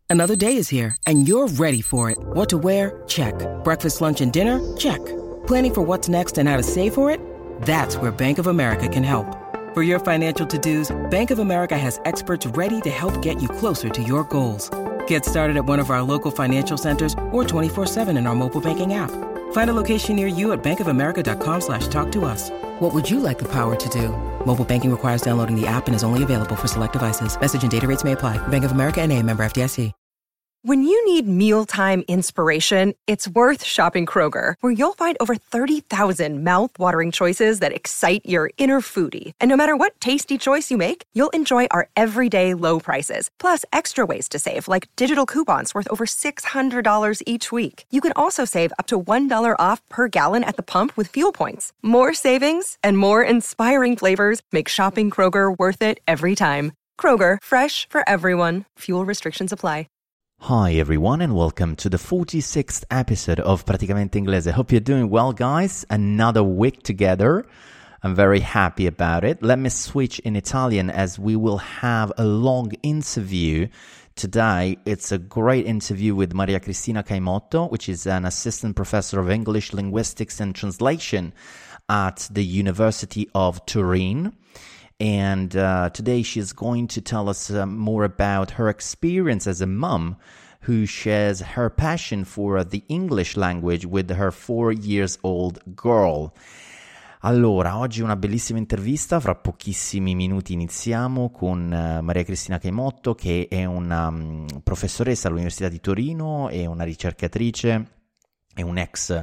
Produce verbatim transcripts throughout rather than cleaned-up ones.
Another day is here, and you're ready for it. What to wear? Check. Breakfast, lunch, and dinner? Check. Planning for what's next and how to save for it? That's where Bank of America can help. For your financial to-dos, Bank of America has experts ready to help get you closer to your goals. Get started at one of our local financial centers or twenty-four seven in our mobile banking app. Find a location near you at bankofamerica.com slash talk to us. What would you like the power to do? Mobile banking requires downloading the app and is only available for select devices. Message and data rates may apply. Bank of America N A, member F D I C. When you need mealtime inspiration, it's worth shopping Kroger, where you'll find over thirty thousand mouth-watering choices that excite your inner foodie. And no matter what tasty choice you make, you'll enjoy our everyday low prices, plus extra ways to save, like digital coupons worth over six hundred dollars each week. You can also save up to one dollar off per gallon at the pump with fuel points. More savings and more inspiring flavors make shopping Kroger worth it every time. Kroger, fresh for everyone. Fuel restrictions apply. Hi everyone and welcome to the forty-sixth episode of Praticamente Inglese. Hope you're doing well, guys. Another week together. I'm very happy about it. Let me switch in Italian as we will have a long interview today. It's a great interview with Maria Cristina Caimotto, which is an assistant professor of English, linguistics and translation at the University of Turin. And uh, today she's going to tell us uh, more about her experience as a mum who shares her passion for uh, the English language with her four years old girl. Allora, oggi una bellissima intervista, fra pochissimi minuti iniziamo con uh, Maria Cristina Caimotto, che è una um, professoressa all'Università di Torino e una ricercatrice, è un ex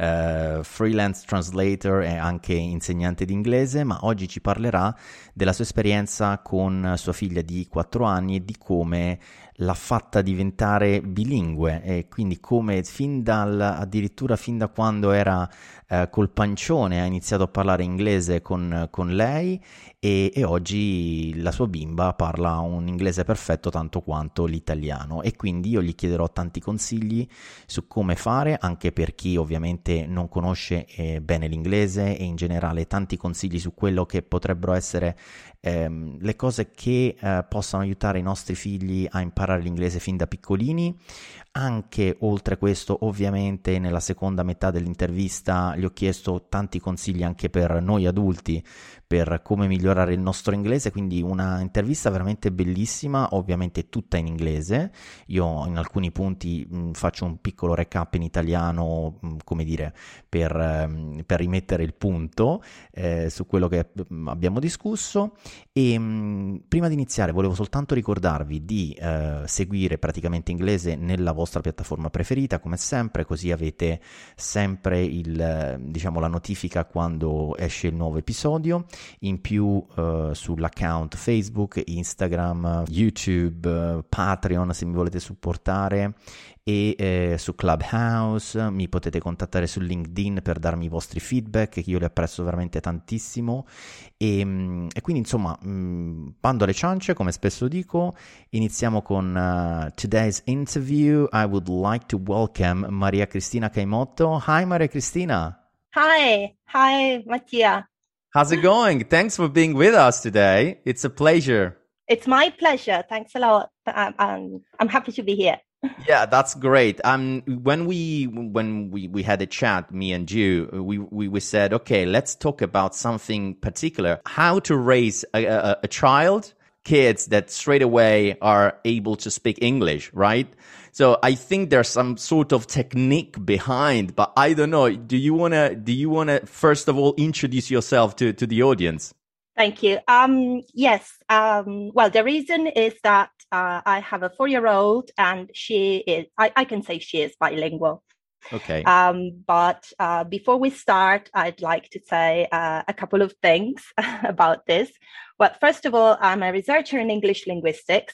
Uh, freelance translator e anche insegnante di inglese, ma oggi ci parlerà della sua esperienza con sua figlia di quattro anni e di come l'ha fatta diventare bilingue, e quindi come fin dal, addirittura fin da quando era uh, col pancione ha iniziato a parlare inglese con, con lei e, e oggi la sua bimba parla un inglese perfetto tanto quanto l'italiano, e quindi io gli chiederò tanti consigli su come fare, anche per chi ovviamente non conosce eh, bene l'inglese, e in generale tanti consigli su quello che potrebbero essere ehm, le cose che eh, possano aiutare i nostri figli a imparare l'inglese fin da piccolini. Anche oltre questo, ovviamente nella seconda metà dell'intervista gli ho chiesto tanti consigli anche per noi adulti per come migliorare il nostro inglese, quindi una intervista veramente bellissima, ovviamente tutta in inglese. Io in alcuni punti mh, faccio un piccolo recap in italiano, mh, come dire, per, mh, per rimettere il punto eh, su quello che mh, abbiamo discusso. E mh, prima di iniziare volevo soltanto ricordarvi di eh, seguire Praticamente Inglese nella vostra piattaforma preferita, come sempre, così avete sempre il, diciamo, la notifica quando esce il nuovo episodio. In più uh, sull'account Facebook, Instagram, YouTube, uh, Patreon se mi volete supportare, e eh, su Clubhouse mi potete contattare su LinkedIn per darmi i vostri feedback, che io li apprezzo veramente tantissimo. E, e quindi insomma, mh, bando alle ciance, come spesso dico. Iniziamo con uh, today's interview. I would like to welcome Maria Cristina Caimotto. Hi Maria Cristina. Hi, hi Mattia. How's it going? Thanks for being with us today. It's a pleasure. It's my pleasure. Thanks a lot. Um, um, I'm happy to be here. Yeah, that's great. Um, when we when we, we had a chat, me and you, we, we, we said, okay, let's talk about something particular. How to raise a, a, a child, kids that straight away are able to speak English, right? So I think there's some sort of technique behind, but I don't know. Do you wanna do you wanna first of all introduce yourself to, to the audience? Thank you. Um, yes. Um, well, the reason is that uh, I have a four-year-old, and she is. I, I can say she is bilingual. Okay. Um, but uh, before we start, I'd like to say uh, a couple of things about this. Well, first of all, I'm a researcher in English linguistics.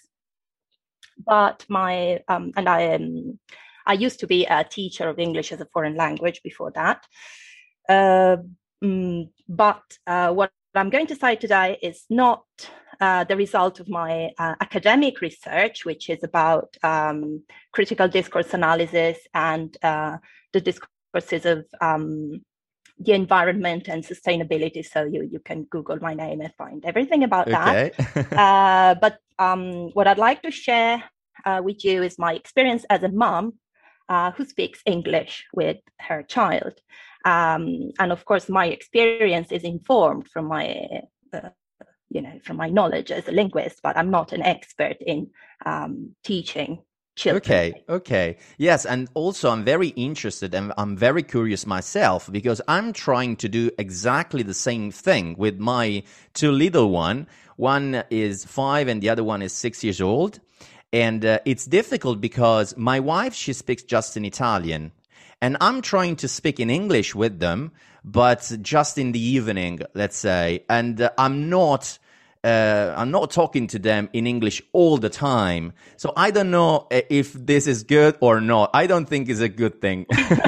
But my um, and I am I used to be a teacher of English as a foreign language before that. Uh, mm, but uh, what I'm going to say today is not uh, the result of my uh, academic research, which is about um, critical discourse analysis and uh, the discourses of um, the environment and sustainability. So you, you can Google my name and find everything about okay. that. uh, but um, what I'd like to share uh, with you is my experience as a mom uh, who speaks English with her child. Um, and of course, my experience is informed from my, uh, you know, from my knowledge as a linguist, but I'm not an expert in um, teaching children. Okay, okay. Yes, and also I'm very interested and I'm very curious myself because I'm trying to do exactly the same thing with my two little one. One is five and the other one is six years old. And uh, it's difficult because my wife, she speaks just in Italian. And I'm trying to speak in English with them, but just in the evening, let's say. And uh, I'm not... Uh, I'm not talking to them in English all the time. So I don't know if this is good or not. I don't think it's a good thing.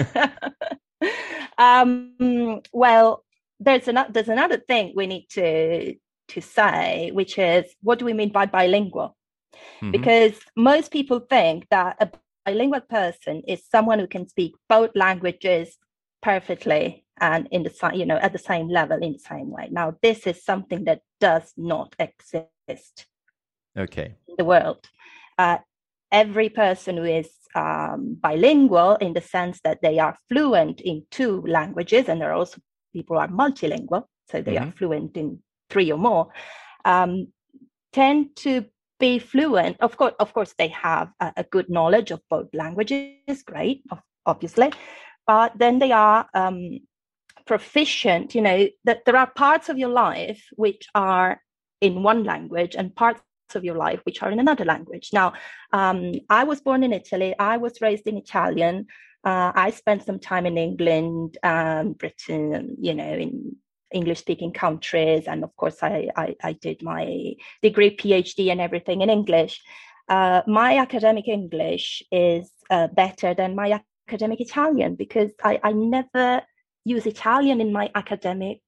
um, well, there's, an, there's another thing we need to, to say, which is, what do we mean by bilingual? Mm-hmm. Because most people think that a bilingual person is someone who can speak both languages perfectly and in the you know at the same level in the same way. Now, this is something that does not exist. Okay. In the world, uh, every person who is um, bilingual in the sense that they are fluent in two languages, and there are also people who are multilingual, so they mm-hmm. are fluent in three or more, um, tend to be fluent. Of course, of course, they have a, a good knowledge of both languages. Great, obviously, but then they are um, proficient, you know, that there are parts of your life which are in one language and parts of your life which are in another language. Now, um, I was born in Italy. I was raised in Italian. Uh, I spent some time in England, um, Britain, you know, in English-speaking countries. And of course, I, I, I did my degree, PhD and everything in English. Uh, my academic English is uh, better than my academic Italian because I, I never... use Italian in my academic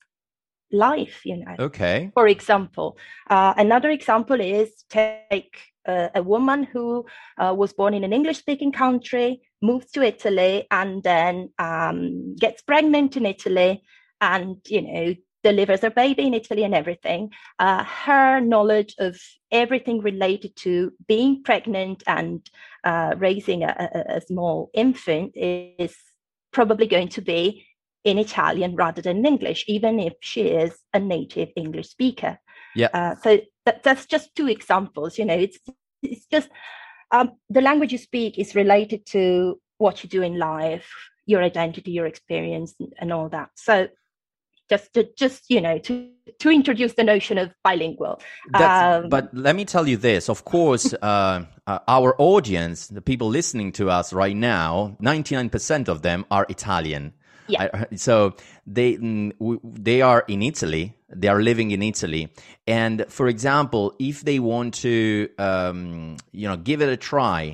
life, you know. Okay. For example, uh, another example is take uh, a woman who uh, was born in an English-speaking country, moves to Italy, and then um, gets pregnant in Italy, and you know delivers her baby in Italy and everything. Uh, her knowledge of everything related to being pregnant and uh, raising a, a, a small infant is probably going to be in Italian rather than in English, even if she is a native English speaker. Yeah. Uh, so that, that's just two examples. You know, it's it's just um, the language you speak is related to what you do in life, your identity, your experience, and, and all that. So just to just you know to to introduce the notion of bilingual. Um, but let me tell you this. Of course, uh, uh, our audience, the people listening to us right now, ninety-nine percent of them are Italian. Yeah. I, so they they are in Italy. They are living in Italy. And for example, if they want to, um, you know, give it a try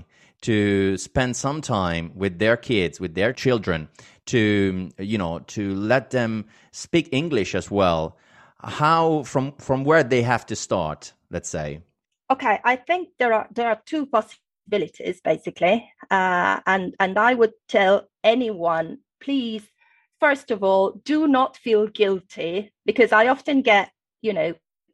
to spend some time with their kids, with their children, to, you know, to let them speak English as well, how, from, from where they have to start, let's say? Okay, I think there are there are two possibilities, basically. Uh, and, and I would tell anyone, please, first of all, do not feel guilty, because I often get, you know,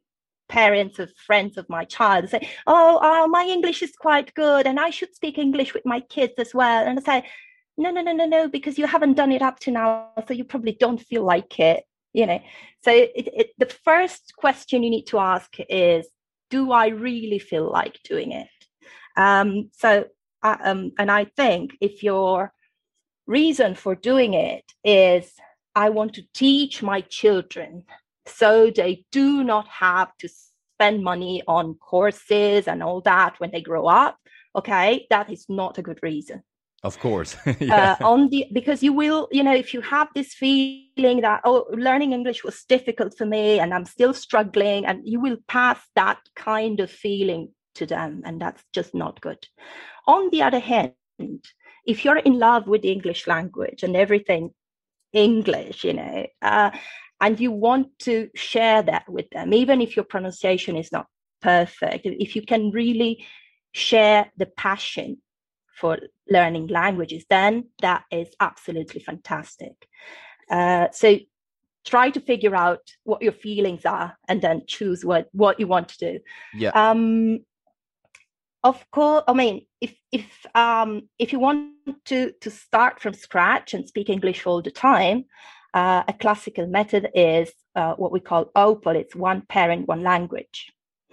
parents of friends of my child say, oh, oh, my English is quite good and I should speak English with my kids as well. And I say, no, no, no, no, no, because you haven't done it up to now, so you probably don't feel like it, you know. So it, it, the first question you need to ask is, do I really feel like doing it? Um, so, uh, um, and I think if your reason for doing it is, I want to teach my children so they do not have to spend money on courses and all that when they grow up, okay, that is not a good reason. Of course. Yeah. uh, on the because you will, you know, if you have this feeling that, oh, learning English was difficult for me and I'm still struggling, and you will pass that kind of feeling to them, and that's just not good. On the other hand, if you're in love with the English language and everything English, you know, uh, and you want to share that with them, even if your pronunciation is not perfect, if you can really share the passion for learning languages, then that is absolutely fantastic. Uh, so try to figure out what your feelings are and then choose what, what you want to do. Yeah. Um, Of course, I mean, if if um if you want to to start from scratch and speak English all the time, uh, a classical method is uh, what we call O P L. It's one parent, one language,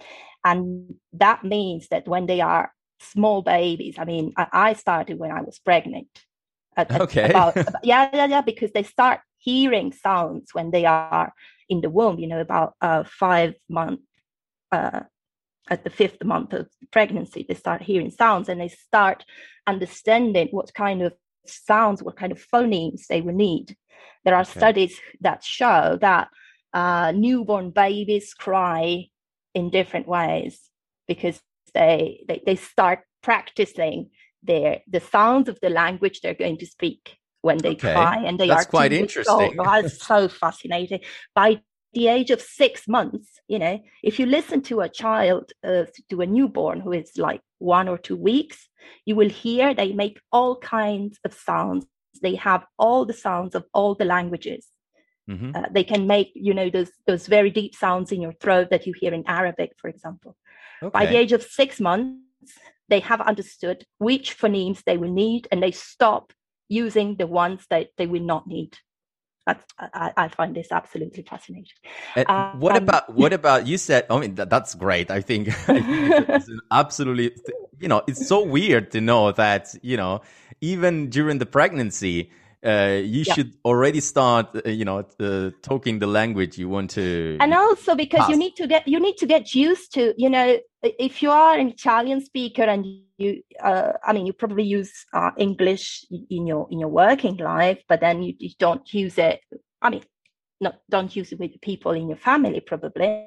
and that means that when they are small babies, I mean, I, I started when I was pregnant. At, at Okay. about, about, yeah, yeah, yeah, because they start hearing sounds when they are in the womb. You know, about uh, five months. Uh, at the fifth month of pregnancy, they start hearing sounds and they start understanding what kind of sounds, what kind of phonemes they will need. There are okay. studies that show that uh, newborn babies cry in different ways because they, they, they start practicing their the sounds of the language they're going to speak when they okay. cry. And they That's are quite interesting. Oh, it's so fascinating. By the age of six months, you know, if you listen to a child, uh, to a newborn who is like one or two weeks, you will hear they make all kinds of sounds. They have all the sounds of all the languages. Mm-hmm. Uh, they can make, you know, those those very deep sounds in your throat that you hear in Arabic, for example. Okay. By the age of six months, they have understood which phonemes they will need, and they stop using the ones that they will not need. That's, I, I find this absolutely fascinating. Um, what about what about you said? I mean, that, that's great. I think, I think it's an absolutely, you know, it's so weird to know that, you know, even during the pregnancy, uh, you yeah. should already start, uh, you know, uh, talking the language you want to. And also because pass. you need to get you need to get used to, you know, if you are an Italian speaker and you, uh, I mean, you probably use uh, English in your in your working life, but then you, you don't use it. I mean, not don't use it with people in your family, probably.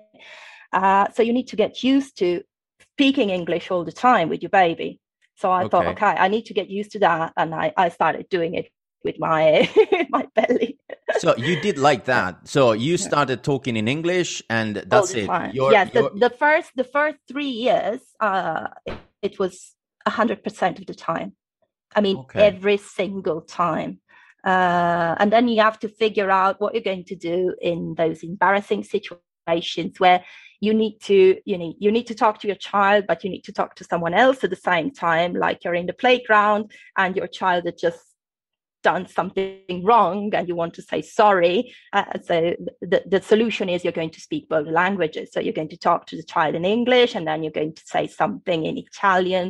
Uh, so you need to get used to speaking English all the time with your baby. So I okay. thought, okay, I need to get used to that, and I, I started doing it with my my belly. So you did like that. So you started talking in English, and that's it. You're, yes, you're... The, the first the first three years, uh, it, it was a hundred percent of the time. I mean, okay. every single time. Uh, and then you have to figure out what you're going to do in those embarrassing situations where you need to, you know, you need to talk to your child, but you need to talk to someone else at the same time, like you're in the playground and your child had just done something wrong and you want to say sorry. Uh, so the, the solution is you're going to speak both languages. So you're going to talk to the child in English, and then you're going to say something in Italian,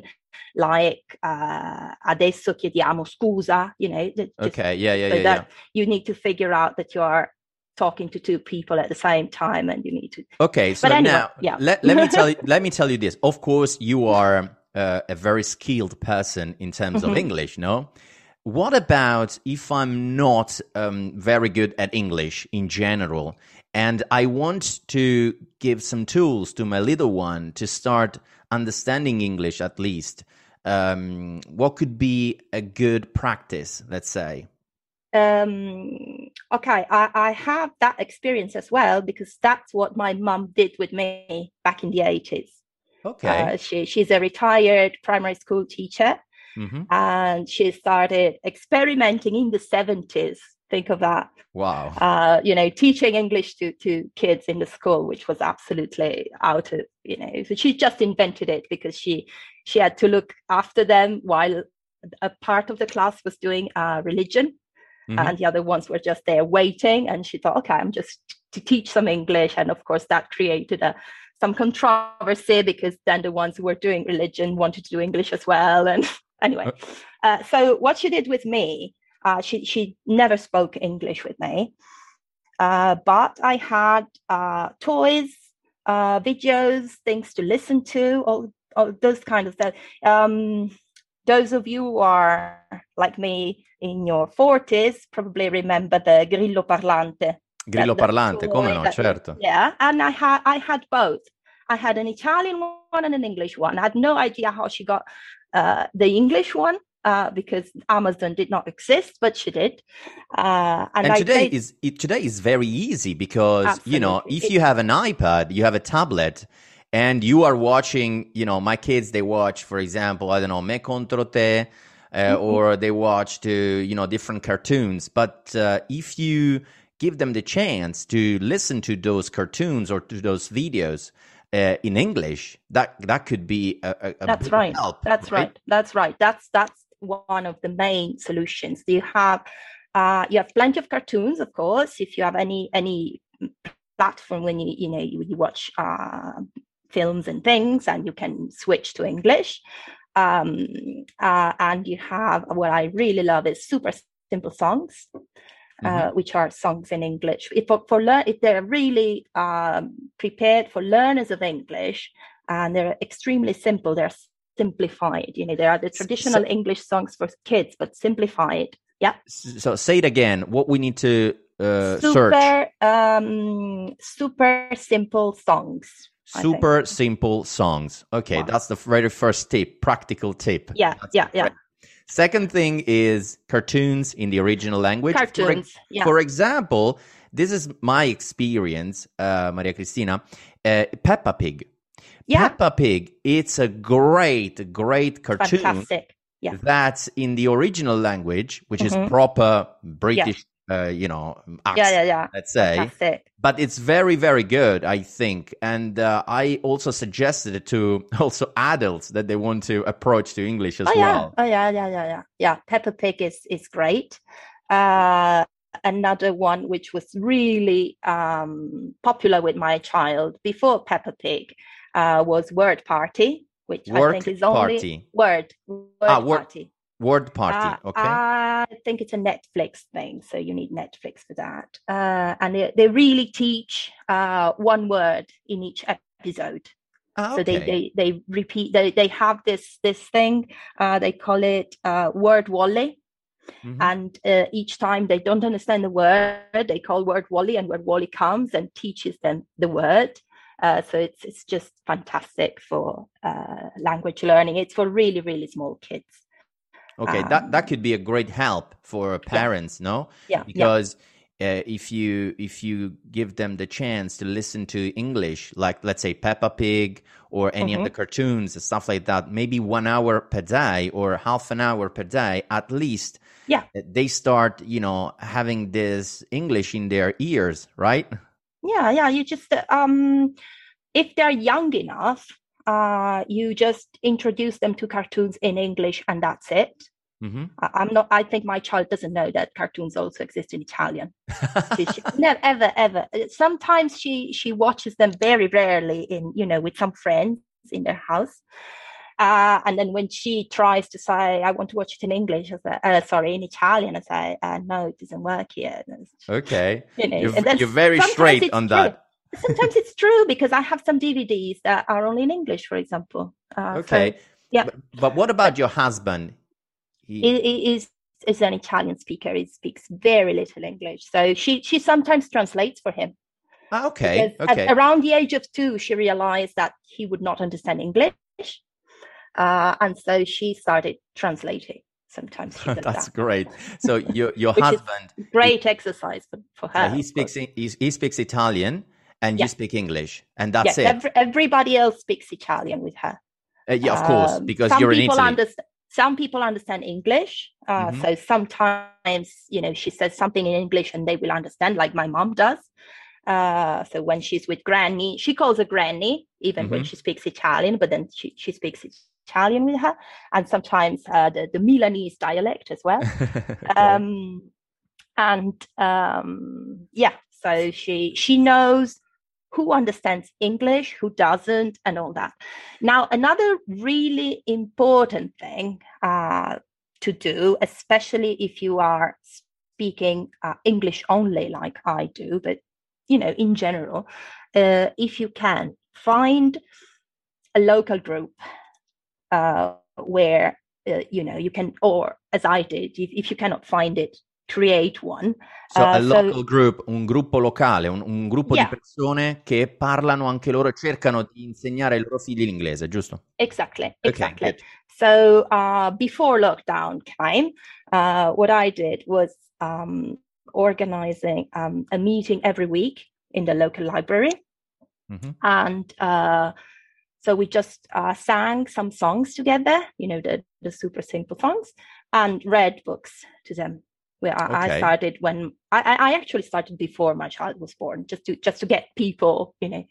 like uh, adesso chiediamo scusa, you know. Just, okay, yeah, yeah, so yeah. that yeah. You need to figure out that you are talking to two people at the same time, and you need to. Okay, so anyway, now yeah. let, let me tell you. Let me tell you this. Of course, you are uh, a very skilled person in terms of English, no? What about if I'm not um, very good at English in general, and I want to give some tools to my little one to start understanding English at least? Um, what could be a good practice, let's say? Um, okay, I, I have that experience as well, because that's what my mum did with me back in the eighties. Okay. Uh, she, she's a retired primary school teacher. Mm-hmm. And she started experimenting in the seventies. Think of that. Wow. Uh, you know, teaching English to, to kids in the school, which was absolutely out of, you know, so she just invented it because she she had to look after them while a part of the class was doing uh, religion. Mm-hmm. And the other ones were just there waiting. And she thought, okay, I'm just to teach some English. And of course, that created a some controversy, because then the ones who were doing religion wanted to do English as well. And anyway, uh, so what she did with me, uh, she she never spoke English with me, uh, but I had uh, toys, uh, videos, things to listen to, all, all those kind of stuff. Um, those of you who are like me in your forties probably remember the Grillo Parlante. Grillo that, Parlante, come no, that, certo. Yeah, and I had I had both. I had an Italian one and an English one. I had no idea how she got uh, the English one uh, because Amazon did not exist, but she did. Uh, and and I today played... is it, today is very easy because Absolutely. you know if it... you have an iPad, you have a tablet, and you are watching. You know, my kids, they watch, for example, I don't know, Me Contro Te, uh, mm-hmm. or they watch to you know different cartoons. But uh, if you give them the chance to listen to those cartoons or to those videos, uh, in English, that that could be a, a, a That's big right. help. That's right? right. That's right. That's that's one of the main solutions. You have uh, you have plenty of cartoons, of course. If you have any any platform when you you know you, you watch uh, films and things, and you can switch to English. Um, uh, and you have what I really love is super simple songs. Uh, mm-hmm. Which are songs in English. If for, for learn, if they're really um, prepared for learners of English, and they're extremely simple, they're simplified. You know, they are the traditional so, English songs for kids, but simplified. Yeah. So say it again. What we need to uh, super, search? Um, super simple songs. Super simple songs. Okay, wow. That's the very first tip, practical tip. Yeah, that's yeah, yeah. Second thing is cartoons in the original language. Cartoons, for, yeah. For example, this is my experience, uh, Maria Cristina, uh, Peppa Pig. Yeah. Peppa Pig, it's a great, great cartoon. Fantastic. Yeah. That's in the original language, which mm-hmm. is proper British, yeah. uh, you know, accent, yeah, yeah, yeah. let's say. Fantastic. But it's very, very good, I think. And uh, I also suggested it to also adults that they want to approach to English as oh, yeah. well. Oh, yeah, yeah, yeah, yeah. Yeah, Peppa Pig is, is great. Uh, another one which was really um, popular with my child before Peppa Pig uh, was Word Party, which Word I think is only... Party. Word. Word ah, word. Party. Word Party, uh, okay. I think it's a Netflix thing, so you need Netflix for that. Uh, and they, they really teach uh, one word in each episode. Ah, okay. So they, they, they repeat, they, they have this this thing, uh, they call it uh, Word Wally. Mm-hmm. And uh, each time they don't understand the word, they call Word Wally, and Word Wally comes and teaches them the word. Uh, so it's it's just fantastic for uh, language learning. It's for really, really small kids. Okay, um, that, that could be a great help for parents, yeah. no? Yeah. Because yeah. Uh, if you if you give them the chance to listen to English, like let's say Peppa Pig or any mm-hmm. of the cartoons and stuff like that, maybe one hour per day or half an hour per day, at least, yeah, they start, you know, having this English in their ears, right? Yeah, yeah. You just um, if they're young enough. Uh, you just introduce them to cartoons in English, and that's it. Mm-hmm. I, I'm not. I think my child doesn't know that cartoons also exist in Italian. she, she, never, ever, ever. Sometimes she she watches them very rarely in you know with some friends in their house, uh, and then when she tries to say, "I want to watch it in English," I say, uh, sorry, in Italian, I say, uh, "No, it doesn't work here." Okay, you know, you're, you're very straight on true. that. Sometimes it's true because I have some D V Ds that are only in English, for example. Uh, okay. So, yeah. But, but what about your husband? He, he is is an Italian speaker. He speaks very little English. So she, she sometimes translates for him. Ah, okay. Okay. At, around the age of two, she realized that he would not understand English. Uh, and so she started translating. Sometimes she does That's that. Great. So your your husband... great he, exercise for, for her. he, speaks, he, he speaks Italian. And yeah. you speak English, and that's yeah, it. Every, everybody else speaks Italian with her. Uh, yeah, of course, because um, you're in Italy. Understand, some people understand English, uh, mm-hmm. so sometimes you know she says something in English and they will understand, like my mom does. Uh, so when she's with Granny, she calls her Granny, even mm-hmm. when she speaks Italian, but then she, she speaks Italian with her, and sometimes uh, the the Milanese dialect as well. okay. Um, and um, yeah, so she she knows who understands English, who doesn't, and all that. Now, another really important thing uh, to do, especially if you are speaking uh, English only, like I do, but, you know, in general, uh, if you can, find a local group uh, where, uh, you know, you can, or as I did, if, if you cannot find it, create one. So uh, a local so, group, un gruppo locale, un, un gruppo yeah. di persone che parlano anche loro, cercano di insegnare ai loro figli l'inglese, giusto? Exactly, exactly. Okay, so uh, before lockdown came, uh, what I did was um, organizing um, a meeting every week in the local library. Mm-hmm. And uh, so we just uh, sang some songs together, you know, the, the super simple songs, and read books to them. Where I, okay. I started when I, I actually started before my child was born, just to just to get people, you know,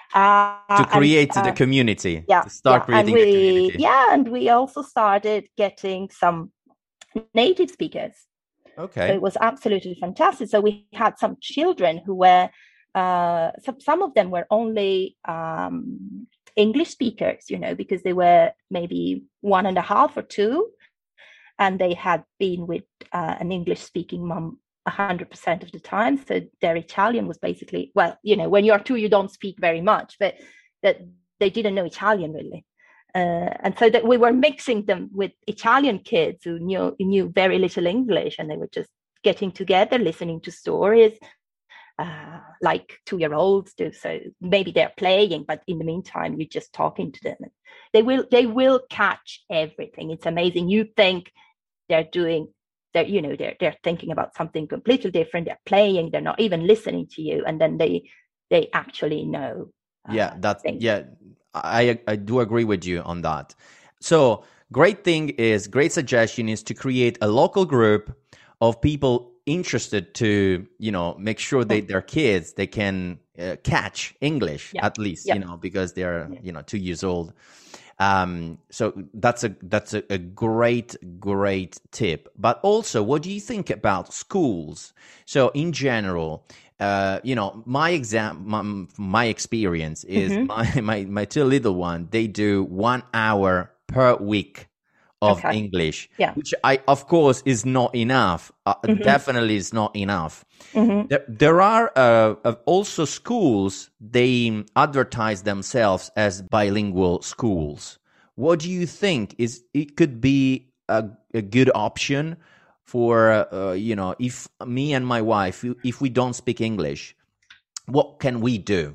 Uh, to create and, uh, the community, yeah, to start yeah. creating and we, the community. Yeah, and we also started getting some native speakers. Okay. So it was absolutely fantastic. So we had some children who were, uh, some, some of them were only um, English speakers, you know, because they were maybe one and a half or two, and they had been with uh, an English speaking mom one hundred percent of the time. So their Italian was basically, well, you know, when you're two, you don't speak very much, but that they didn't know Italian really. Uh, and so that we were mixing them with Italian kids who knew knew very little English, and they were just getting together, listening to stories, uh, like two-year-olds do. So maybe they're playing, but in the meantime, you're just talking to them. They will they will catch everything. It's amazing. You think they're doing, they're you know they're they're thinking about something completely different. They're playing. They're not even listening to you, and then they they actually know. Uh, yeah, that's things. yeah. I I do agree with you on that. So great thing is, great suggestion is to create a local group of people interested to, you know, make sure that their kids, they can uh, catch English yeah. at least, yeah. you know, because they're, yeah. you know, two years old. Um, so that's a that's a, a great, great tip. But also, what do you think about schools? So in general, uh, you know, my exam, my, my experience is mm-hmm. my, my my two little one, they do one hour per week of okay. English, yeah. which I, of course, is not enough. Uh, mm-hmm. Definitely is not enough. Mm-hmm. There, there are uh, also schools, they advertise themselves as bilingual schools. What do you think is it could be a, a good option for, uh, you know, if me and my wife, if we don't speak English, what can we do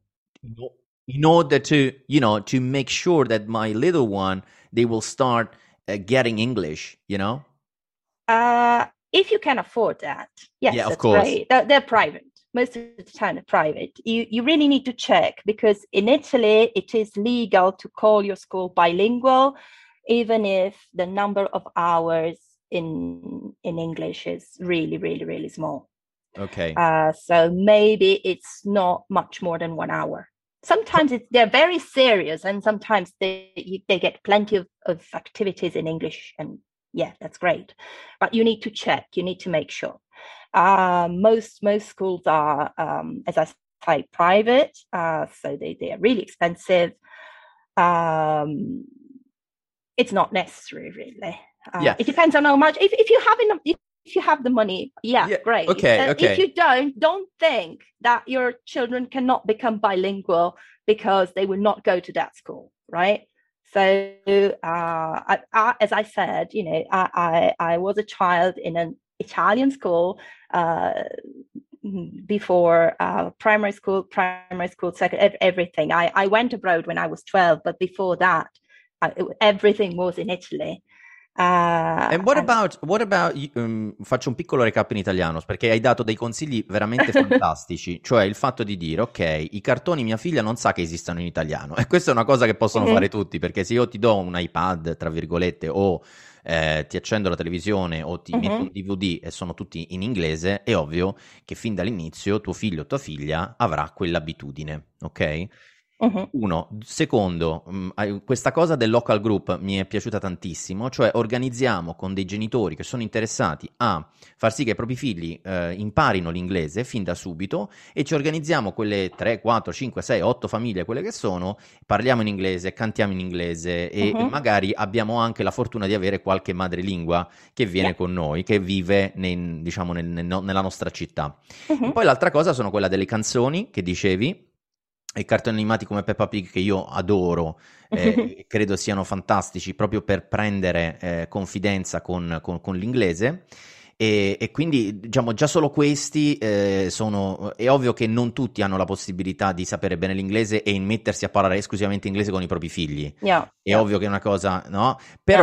in order to, you know, to make sure that my little one, they will start uh, getting English, you know? Uh, if you can afford that, yes, yeah, of that's course. great. They're, they're private. Most of the time they're private. You, you really need to check, because in Italy, it is legal to call your school bilingual, even if the number of hours in in English is really, really, really small. Okay. Uh, so maybe it's not much more than one hour. Sometimes it's, they're very serious, and sometimes they they get plenty of, of activities in English, and yeah, that's great. But you need to check. You need to make sure. Uh, most most schools are, um, as I say, private, uh, so they, they are really expensive. Um, it's not necessary, really. Uh, yeah. It depends on how much. If if you have enough, if, if you have the money, yeah, yeah. great. Okay, uh, okay. If you don't, don't think that your children cannot become bilingual because they will not go to that school, right? So, uh, I, I, as I said, you know, I, I, I was a child in an Italian school uh, before uh, primary school, primary school, second, everything. I, I went abroad when I was twelve, but before that, uh, it, everything was in Italy. Uh, and what and... about, what about um, faccio un piccolo recap in italiano, perché hai dato dei consigli veramente fantastici, cioè il fatto di dire, ok, i cartoni mia figlia non sa che esistano in italiano, e questa è una cosa che possono mm-hmm. fare tutti, perché se io ti do un iPad, tra virgolette, o eh, ti accendo la televisione o ti mm-hmm. metto un D V D e sono tutti in inglese, è ovvio che fin dall'inizio tuo figlio o tua figlia avrà quell'abitudine, ok? Uh-huh. Uno. Secondo, mh, questa cosa del local group mi è piaciuta tantissimo, cioè organizziamo con dei genitori che sono interessati a far sì che i propri figli eh, imparino l'inglese fin da subito, e ci organizziamo quelle tre, quattro, cinque, sei, otto famiglie, quelle che sono, parliamo in inglese, cantiamo in inglese e, uh-huh. e magari abbiamo anche la fortuna di avere qualche madrelingua che viene yeah. con noi, che vive nei, diciamo nel, nel, nella nostra città. Uh-huh. E poi l'altra cosa sono quella delle canzoni che dicevi, i cartoni animati come Peppa Pig, che io adoro, eh, credo siano fantastici proprio per prendere eh, confidenza con, con, con l'inglese, e, e quindi diciamo già solo questi eh, sono, è ovvio che non tutti hanno la possibilità di sapere bene l'inglese e mettersi a parlare esclusivamente inglese con i propri figli, yeah, è yeah. ovvio che è una cosa, no? Però yeah.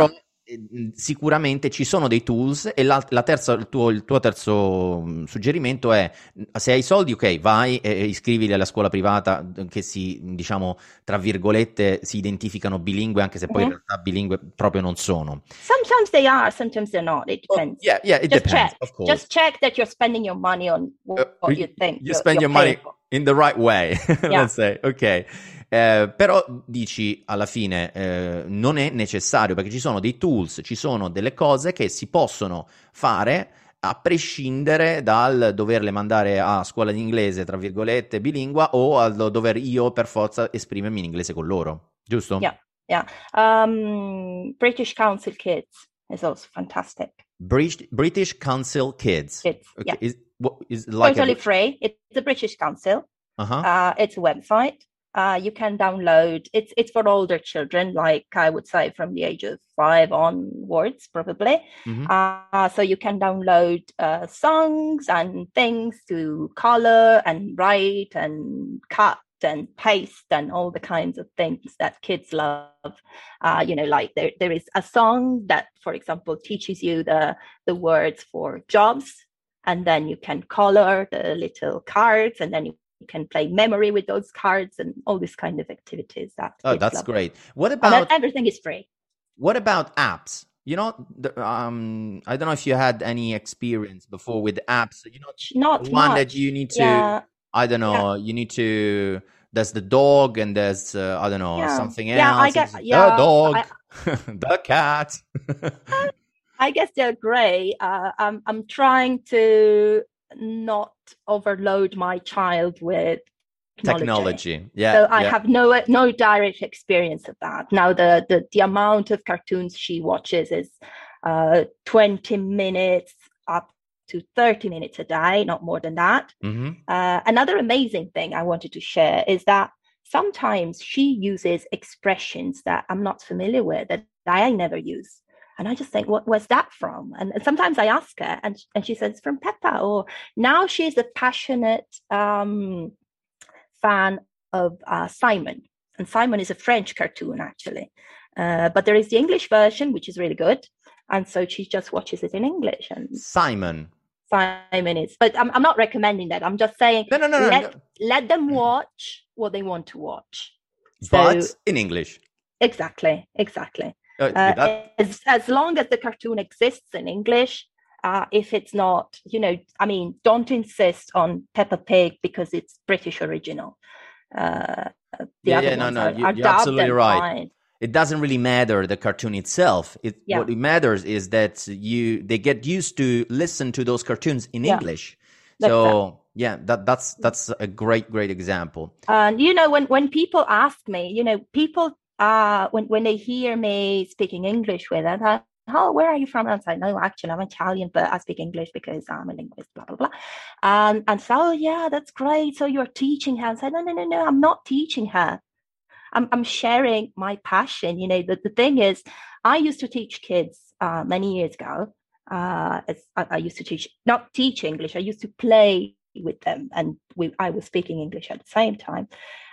sicuramente ci sono dei tools e la, la terza, il, tuo, il tuo terzo suggerimento è: se hai soldi, ok, vai e, e iscrivili alla scuola privata che si, diciamo, tra virgolette, si identificano bilingue, anche se poi Mm-hmm. in realtà bilingue proprio non sono. Sometimes they are, sometimes they're not. It depends. Oh, yeah, yeah, it Just depends, check. of course. Just check that you're spending your money on what, Uh, what you, you think. you you're, spend you're your money for. in the right way, Yeah. let's say, ok. Eh, però dici alla fine eh, non è necessario, perché ci sono dei tools, ci sono delle cose che si possono fare a prescindere dal doverle mandare a scuola di inglese, tra virgolette, bilingua, o al dover io per forza esprimermi in inglese con loro, giusto? Yeah, yeah. Um, British Council Kids is also fantastic. British, British Council Kids. Kids, Okay. yeah. Is, what, is like Totally a... free. It's the British Council. Uh-huh. Uh, it's a website. Uh, you can download. It's it's for older children, like I would say from the age of five onwards, probably. Mm-hmm. Uh, so you can download uh, songs and things to color and write and cut and paste and all the kinds of things that kids love. Uh, you know, like there there is a song that, for example, teaches you the the words for jobs, and then you can color the little cards, and then you You can play memory with those cards and all these kind of activities. That oh, that's love. great. What about everything is free? What about apps? You know, the, um, I don't know if you had any experience before with apps. You know, not the one much. that you need to. Yeah. I don't know. Yeah. You need to. There's the dog, and there's uh, I don't know yeah. something else. Yeah, I guess. Yeah, the dog, I, the cat. I guess they're great. Uh, I'm I'm trying to not overload my child with technology. technology. Yeah. So I yeah. have no no direct experience of that. Now the the, the amount of cartoons she watches is uh, twenty minutes up to thirty minutes a day, not more than that. Mm-hmm. Uh, another amazing thing I wanted to share is that sometimes she uses expressions that I'm not familiar with, that I never use. And I just think, what was that from? And, and sometimes I ask her, and, and she says, from Peppa. Or now she's a passionate um, fan of uh, Simon. And Simon is a French cartoon, actually. Uh, but there is the English version, which is really good. And so she just watches it in English. And Simon. Simon is. But I'm, I'm not recommending that. I'm just saying, no, no, no, let, no, no. let them watch what they want to watch. But so, in English. Exactly, exactly. Uh, uh, as, as long as the cartoon exists in English, uh, if it's not, you know, I mean, don't insist on Peppa Pig because it's British original. Uh, the yeah, other yeah, no, ones no, are, you, are you're absolutely right. Fine. It doesn't really matter the cartoon itself. It, yeah. What it matters is that you they get used to listen to those cartoons in yeah. English. That's so that. yeah, that that's that's a great great example. And you know, when when people ask me, you know, people uh when when they hear me speaking English with them, I, oh, where are you from? And I say, no, actually, I'm Italian, but I speak English because I'm a linguist, blah, blah, blah. Um, and so, oh, yeah, that's great. So you're teaching her. And I said, no, no, no, no, I'm not teaching her. I'm, I'm sharing my passion. You know, the, the thing is, I used to teach kids uh, many years ago. Uh, as I, I used to teach, not teach English. I used to play with them. And we, I was speaking English at the same time.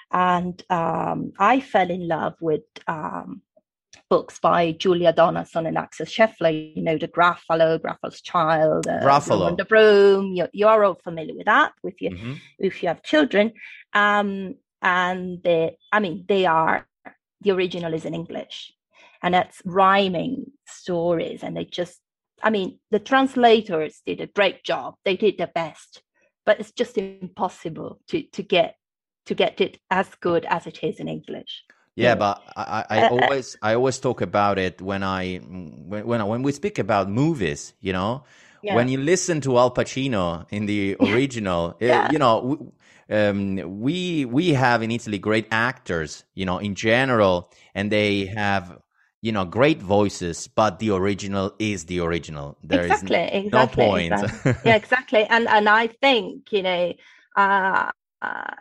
And um, I fell in love with um, books by Julia Donaldson and Axel Scheffler, you know, the Gruffalo, Gruffalo's Child, uh, Gruffalo. and the Broom. You're, you're all familiar with that if you, mm-hmm. if you have children. Um, and they, I mean, they are, the original is in English. And that's rhyming stories. And they just, I mean, the translators did a great job. They did their best. But it's just impossible to, to get to get it as good as it is in English. Yeah, yeah. but I, I uh, always I always talk about it when I when when, when we speak about movies, you know, yeah. when you listen to Al Pacino in the original, yeah. it, you know, um, we we have in Italy great actors, you know, in general, and they have, you know, great voices, but the original is the original. There exactly, is exactly, no point. Exactly. Yeah, exactly. And and I think, you know, uh, uh,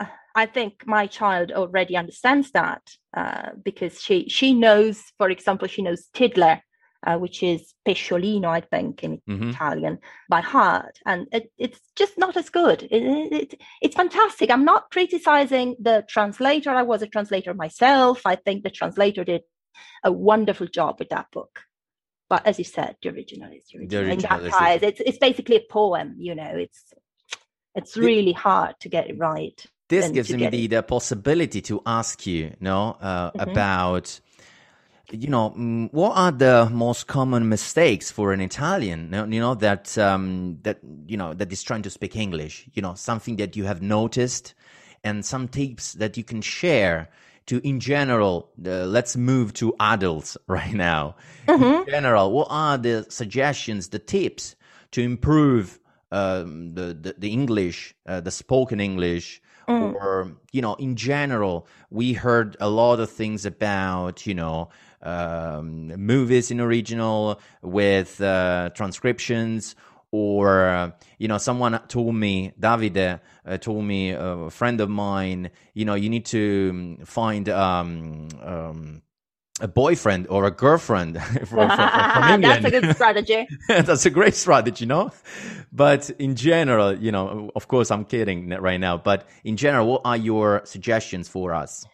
I think my child already understands that uh, because she she knows, for example, she knows Tiddler, uh, which is pesciolino, I think, in mm-hmm. Italian, by heart. And it, it's just not as good. It, it, it's fantastic. I'm not criticizing the translator. I was a translator myself. I think the translator did a wonderful job with that book. But as you said, the original is the original. The original In is that it. case, it's it's basically a poem. You know, it's it's really hard to get it right. This and gives to me get the, it. the possibility to ask you, no, uh, Mhm. about, you know, mm, what are the most common mistakes for an Italian, no- you know, that, um, that, you know, that is trying to speak English, you know, something that you have noticed and some tips that you can share to, in general, uh, let's move to adults right now. In Mhm. general, what are the suggestions, the tips to improve um, the, the, the English, uh, the spoken English, Mm. or, you know, in general, we heard a lot of things about, you know, um, movies in original with uh, transcriptions, or, uh, you know, someone told me, Davide uh, told me, uh, a friend of mine, you know, you need to um, find um, um, a boyfriend or a girlfriend from, from, from England. That's a good strategy. That's a great strategy, no? But in general, you know, of course, I'm kidding right now. But in general, what are your suggestions for us?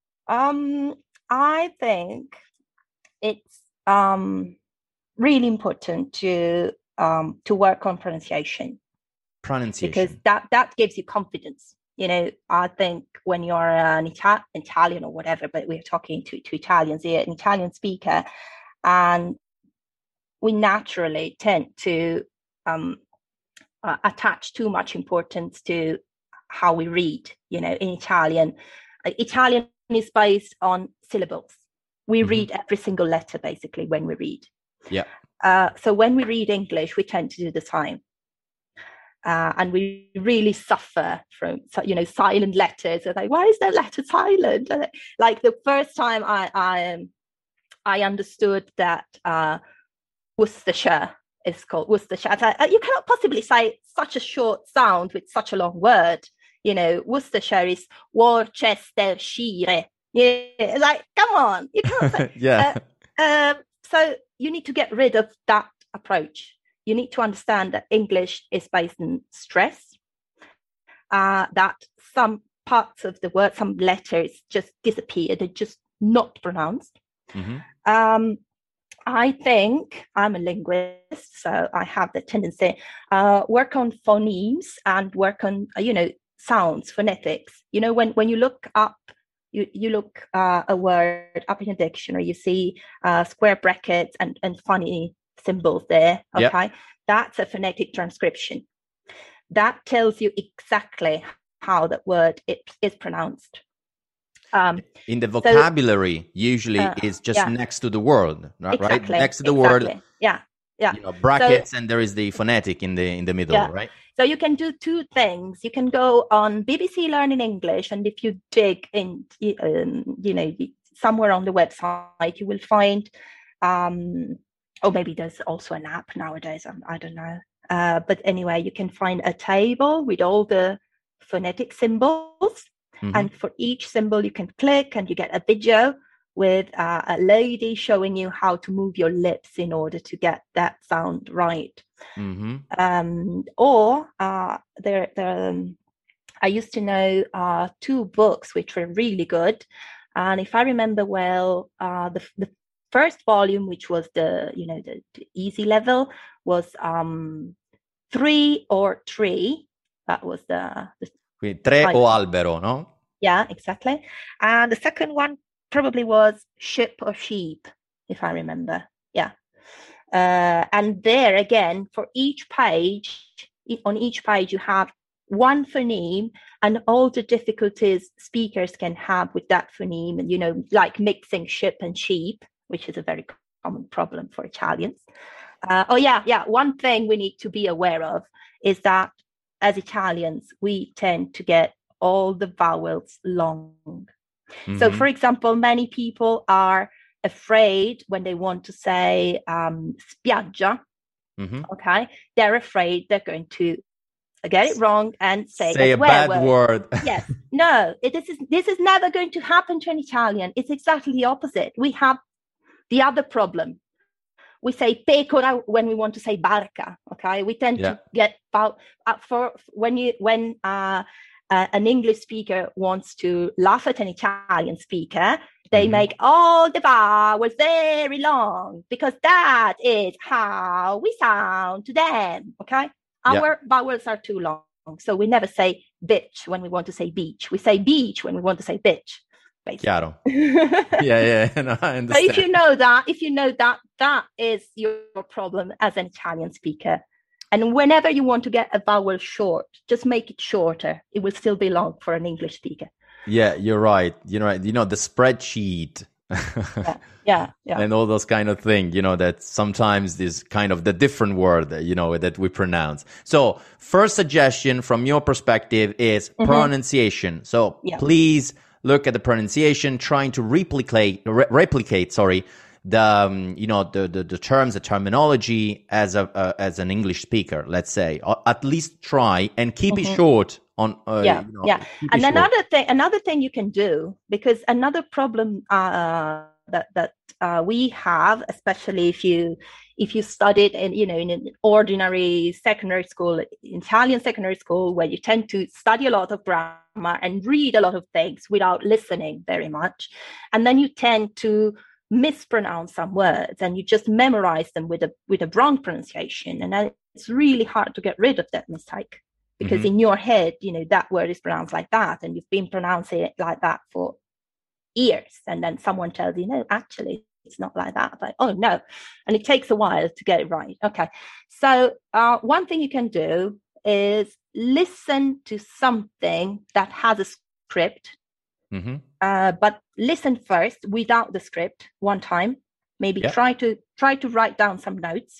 Um, I think it's um, really important to um, to work on pronunciation, Pronunciation. because that that gives you confidence. You know, I think when you're an Ita- Italian or whatever, but we're talking to, to Italians here, an Italian speaker, and we naturally tend to um, uh, attach too much importance to how we read. You know, in Italian, uh, Italian is based on syllables. We Mhm. read every single letter basically when we read. Yeah. Uh, so when we read English, we tend to do the same. Uh, and we really suffer from, you know, silent letters. It's like, why is that letter silent? Like the first time I I, I understood that uh, Worcestershire is called Worcestershire. I thought, you cannot possibly say such a short sound with such a long word. You know, Worcestershire is Worcestershire. Yeah, like, come on, you can't say. Yeah. Uh, uh, so you need to get rid of that approach. You need to understand that English is based on stress, uh, that some parts of the word, some letters just disappear, they're just not pronounced. Mhm. Um, I think I'm a linguist, so I have the tendency uh, work on phonemes and work on, you know, sounds, phonetics. You know, when, when you look up, you, you look uh, a word up in a dictionary, you see uh, square brackets and, and funny symbols there. Yep. Okay. That's a phonetic transcription. That tells you exactly how that word it, is pronounced. Um, In the vocabulary, so, usually uh, is just yeah. next to the word, right? Exactly, Next to the exactly. word, yeah, yeah. you know, brackets, So, and there is the phonetic in the in the middle, yeah. right? So you can do two things. You can go on B B C Learning English, and if you dig in, um, you know, somewhere on the website, you will find, um, or maybe there's also an app nowadays. I, I don't know. Uh, but anyway, you can find a table with all the phonetic symbols, Mhm. and for each symbol you can click, and you get a video with uh, a lady showing you how to move your lips in order to get that sound right. Mhm. Um, or uh, there, there um, I used to know uh, two books which were really good, and if I remember well, uh, the the first volume, which was the you know the, the easy level, was um, Three or Tree. That was the, the Quindi tre title. o albero, no? Yeah, exactly. And the second one probably was Ship or Sheep, if I remember. Yeah. Uh, and there again, for each page, on each page, you have one phoneme and all the difficulties speakers can have with that phoneme, and, you know, like mixing ship and sheep, which is a very common problem for Italians. Uh, oh, yeah, yeah. One thing we need to be aware of is that as Italians, we tend to get all the vowels long. Mm-hmm. So, for example, many people are afraid when they want to say um, spiaggia. Mm-hmm. Okay, they're afraid they're going to get it wrong and say, say a bad word. word. Yes, no, it, this is this is never going to happen to an Italian. It's exactly the opposite. We have the other problem. We say pecora when we want to say barca. Okay, we tend yeah. to get about uh, for when you when uh, uh, an English speaker wants to laugh at an Italian speaker, They Mm-hmm. make all the vowels very long because that is how we sound to them. Okay. Yeah. Our vowels are too long. So we never say bitch when we want to say beach. We say beach when we want to say bitch. Basically. Chiaro. Yeah, yeah, no, I understand. So if you know that, if you know that, that is your problem as an Italian speaker. And whenever you want to get a vowel short, just make it shorter. It will still be long for an English speaker. Yeah, you're right. You're right. You know, the spreadsheet. yeah, yeah, yeah. And all those kind of things, you know, that sometimes is kind of the different word, you know, that we pronounce. So first suggestion from your perspective is mm-hmm. pronunciation. So yeah. please look at the pronunciation, trying to replicate, re- replicate, sorry, the, um, you know, the, the, the terms, the terminology as a, uh, as an English speaker, let's say, or at least try and keep mm-hmm. it short. On, uh, yeah, you know, yeah. And another thing, another thing you can do, because another problem uh, that that uh, we have, especially if you if you studied in you know in an ordinary secondary school, Italian secondary school, where you tend to study a lot of grammar and read a lot of things without listening very much, and then you tend to mispronounce some words and you just memorize them with a with a wrong pronunciation, and then it's really hard to get rid of that mistake. Because mm-hmm. in your head, you know, that word is pronounced like that, and you've been pronouncing it like that for years. And then someone tells you, no, actually, it's not like that. Like, oh, no. And it takes a while to get it right. Okay. So uh, one thing you can do is listen to something that has a script, mm-hmm. uh, but listen first without the script one time. Maybe yeah. try to try to write down some notes.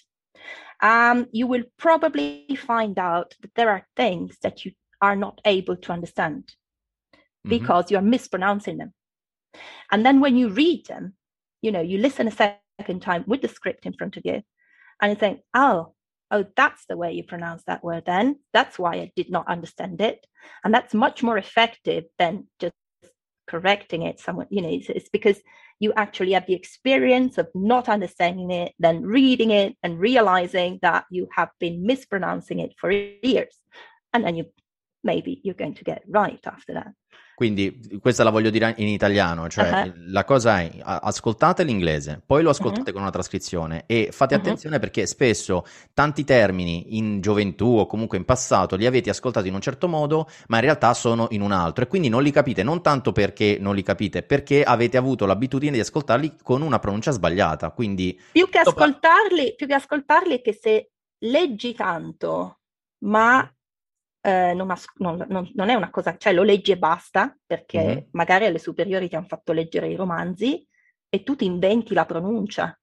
Um, you will probably find out that there are things that you are not able to understand mm-hmm. because you're mispronouncing them. And then when you read them, you know, you listen a second time with the script in front of you and you think, oh, oh, that's the way you pronounce that word then. That's why I did not understand it. And that's much more effective than just correcting it somewhat. You know, it's, it's because you actually have the experience of not understanding it, then reading it and realizing that you have been mispronouncing it for years. And then you maybe you're going to get it right after that. Quindi questa la voglio dire in italiano, cioè uh-huh. la cosa è ascoltate l'inglese, poi lo ascoltate uh-huh. con una trascrizione e fate uh-huh. attenzione perché spesso tanti termini in gioventù o comunque in passato li avete ascoltati in un certo modo ma in realtà sono in un altro e quindi non li capite, non tanto perché non li capite, perché avete avuto l'abitudine di ascoltarli con una pronuncia sbagliata, quindi più che ascoltarli, più che ascoltarli che se leggi tanto ma Eh, non, as- non, non, non è una cosa, cioè lo leggi e basta, perché mm-hmm. magari alle superiori ti hanno fatto leggere i romanzi e tu ti inventi la pronuncia.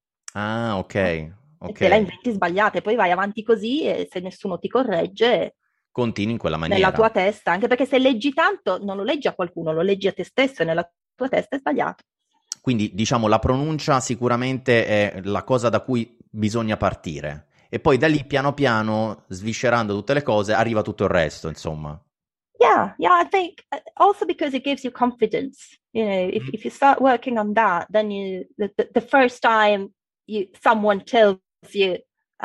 Ah, ok. E okay. te la inventi sbagliata e poi vai avanti così e se nessuno ti corregge continui in quella maniera. Nella tua testa, anche perché se leggi tanto non lo leggi a qualcuno, lo leggi a te stesso e nella tua testa è sbagliato. Quindi diciamo la pronuncia sicuramente è la cosa da cui bisogna partire. E poi da lì piano piano, sviscerando tutte le cose, arriva tutto il resto, insomma. Yeah, yeah, I think also because it gives you confidence. You know, if, mm-hmm. if you start working on that, then you the, the, the first time you someone tells you,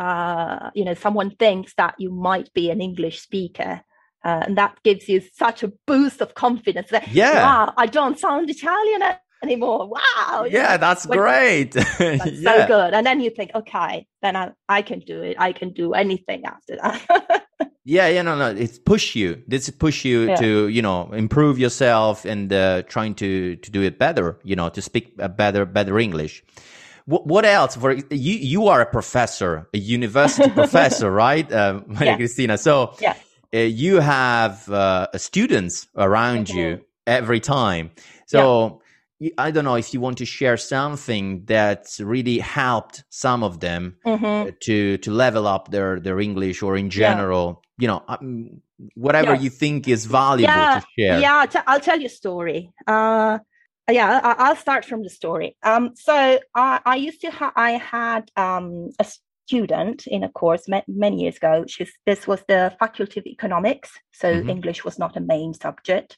uh, you know, someone thinks that you might be an English speaker, uh, and that gives you such a boost of confidence that, yeah. wow, I don't sound Italian anymore. Wow. Yeah, that's when, great. That's yeah. so good. And then you think, okay, then I, I can do it. I can do anything after that. yeah, yeah, no, no. It's push you. This push you yeah. to, you know, improve yourself and uh, trying to, to do it better, you know, to speak a better, better English. What, what else? For you, you are a professor, a university professor, right, uh, Maria yeah. Cristina? So yeah. uh, you have uh, students around mm-hmm. you every time. So. Yeah. I don't know if you want to share something that really helped some of them mm-hmm. to to level up their, their English or in general, yeah. you know, um, whatever yeah. you think is valuable yeah. to share. Yeah, t- I'll tell you a story. Uh, yeah, I- I'll start from the story. Um, so I, I used to ha- I had um, a student in a course ma- many years ago. She's, this was the Faculty of Economics, so mm-hmm. English was not a main subject.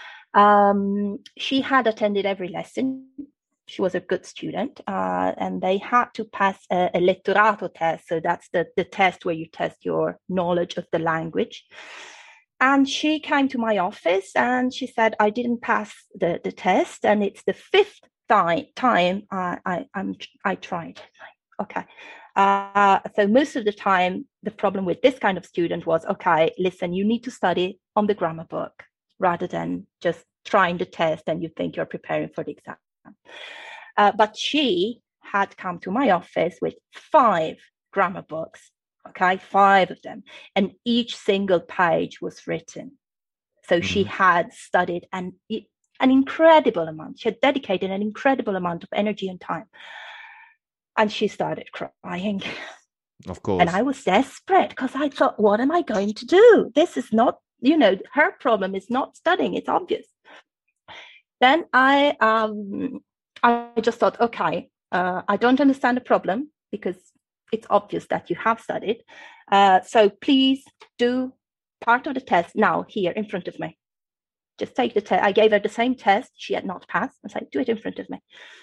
Um, she had attended every lesson. She was a good student, uh, and they had to pass a, a letterato test. So that's the, the test where you test your knowledge of the language. And she came to my office and she said, I didn't pass the, the test. And it's the fifth th- time I, I, I'm, I tried. Okay. Uh, so most of the time, the problem with this kind of student was, okay, listen, you need to study on the grammar book rather than just trying the test and you think you're preparing for the exam. Uh, but she had come to my office with five grammar books, okay, five of them, and each single page was written. So mm-hmm. she had studied an, an incredible amount. She had dedicated an incredible amount of energy and time. And she started crying. Of course. And I was desperate because I thought, what am I going to do? This is not, you know, her problem is not studying. It's obvious. Then I, um, I just thought, okay, uh, I don't understand the problem because it's obvious that you have studied. Uh, so please do part of the test now here in front of me. Just take the test. I gave her the same test she had not passed. I said, do it in front of me.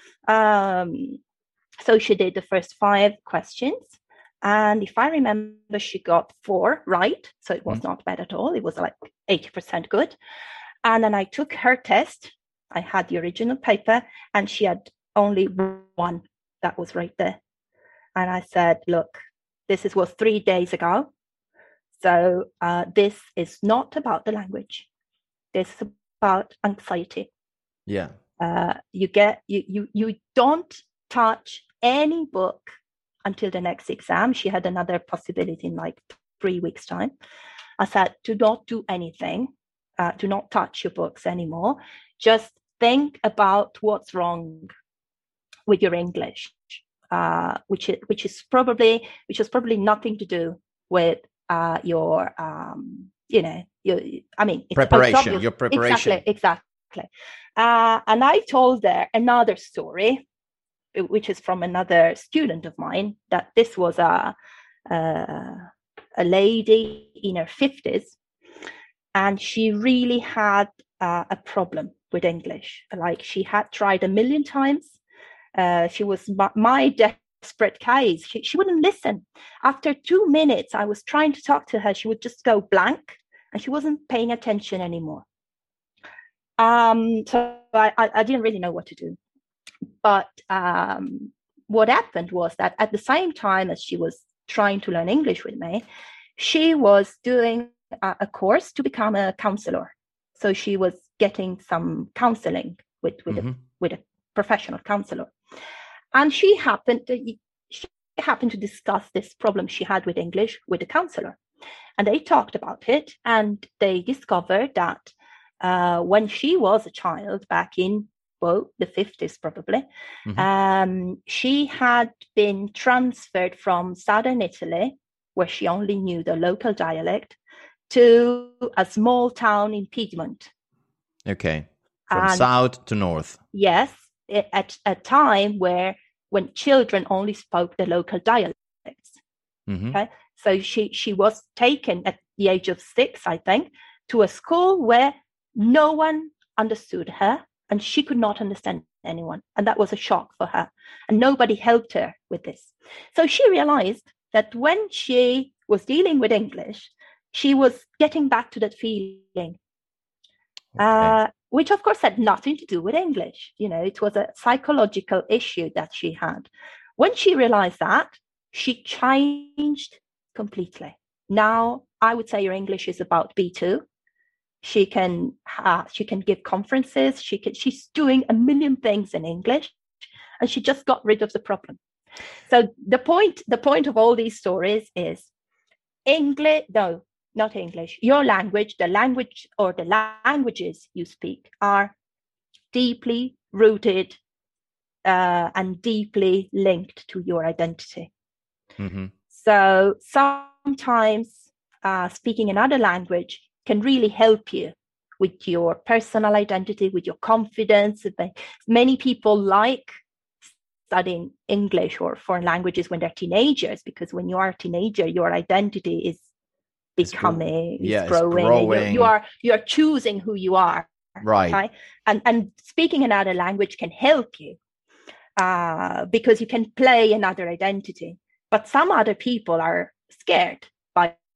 Um, so she did the first five questions. And if I remember, she got four right. So it was mm. not bad at all. It was like eighty percent good. And then I took her test. I had the original paper and she had only one that was right there. And I said, look, this is, was three days ago. So uh, this is not about the language. This is about anxiety. Yeah. Uh, you get, you, you, you don't touch any book until the next exam. She had another possibility in like three weeks' time. I said, do not do anything. Uh, do not touch your books anymore. Just think about what's wrong with your English, uh, which is which is probably which has probably nothing to do with uh, your um, you know your I mean it's, preparation. it's your preparation exactly exactly. Uh, and I told her another story, which is from another student of mine. That this was a a, a lady in her fifties. And she really had uh, a problem with English. Like she had tried a million times. Uh, she was my, my desperate case. She, she wouldn't listen. After two minutes, I was trying to talk to her. She would just go blank and she wasn't paying attention anymore. Um, so I, I, I didn't really know what to do. But um, what happened was that at the same time as she was trying to learn English with me, she was doing a course to become a counselor. So she was getting some counseling with with, mm-hmm. a, with a professional counselor. And she happened to, she happened to discuss this problem she had with English with the counselor. And they talked about it and they discovered that uh, when she was a child back in, well, the fifties probably, mm-hmm. um, she had been transferred from southern Italy, where she only knew the local dialect, to a small town in Piedmont. Okay. From and south to north. Yes, at a time where when children only spoke the local dialects. Mm-hmm. Okay. So she, she was taken at the age of six, I think, to a school where no one understood her and she could not understand anyone. And that was a shock for her. And nobody helped her with this. So she realized that when she was dealing with English, she was getting back to that feeling, okay. uh, which of course had nothing to do with English. You know, it was a psychological issue that she had. When she realized that, she changed completely. Now, I would say her English is about B two. She can uh, she can give conferences. She can, she's doing a million things in English, and she just got rid of the problem. So the point the point of all these stories is English. No. Not English. Your language, the language or the languages you speak are deeply rooted uh, and deeply linked to your identity. Mm-hmm. So sometimes uh, speaking another language can really help you with your personal identity, with your confidence. Many people like studying English or foreign languages when they're teenagers, because when you are a teenager, your identity is becoming, it's, yeah, it's growing. growing. You are you are choosing who you are, right? Okay? And and speaking another language can help you uh, because you can play another identity. But some other people are scared by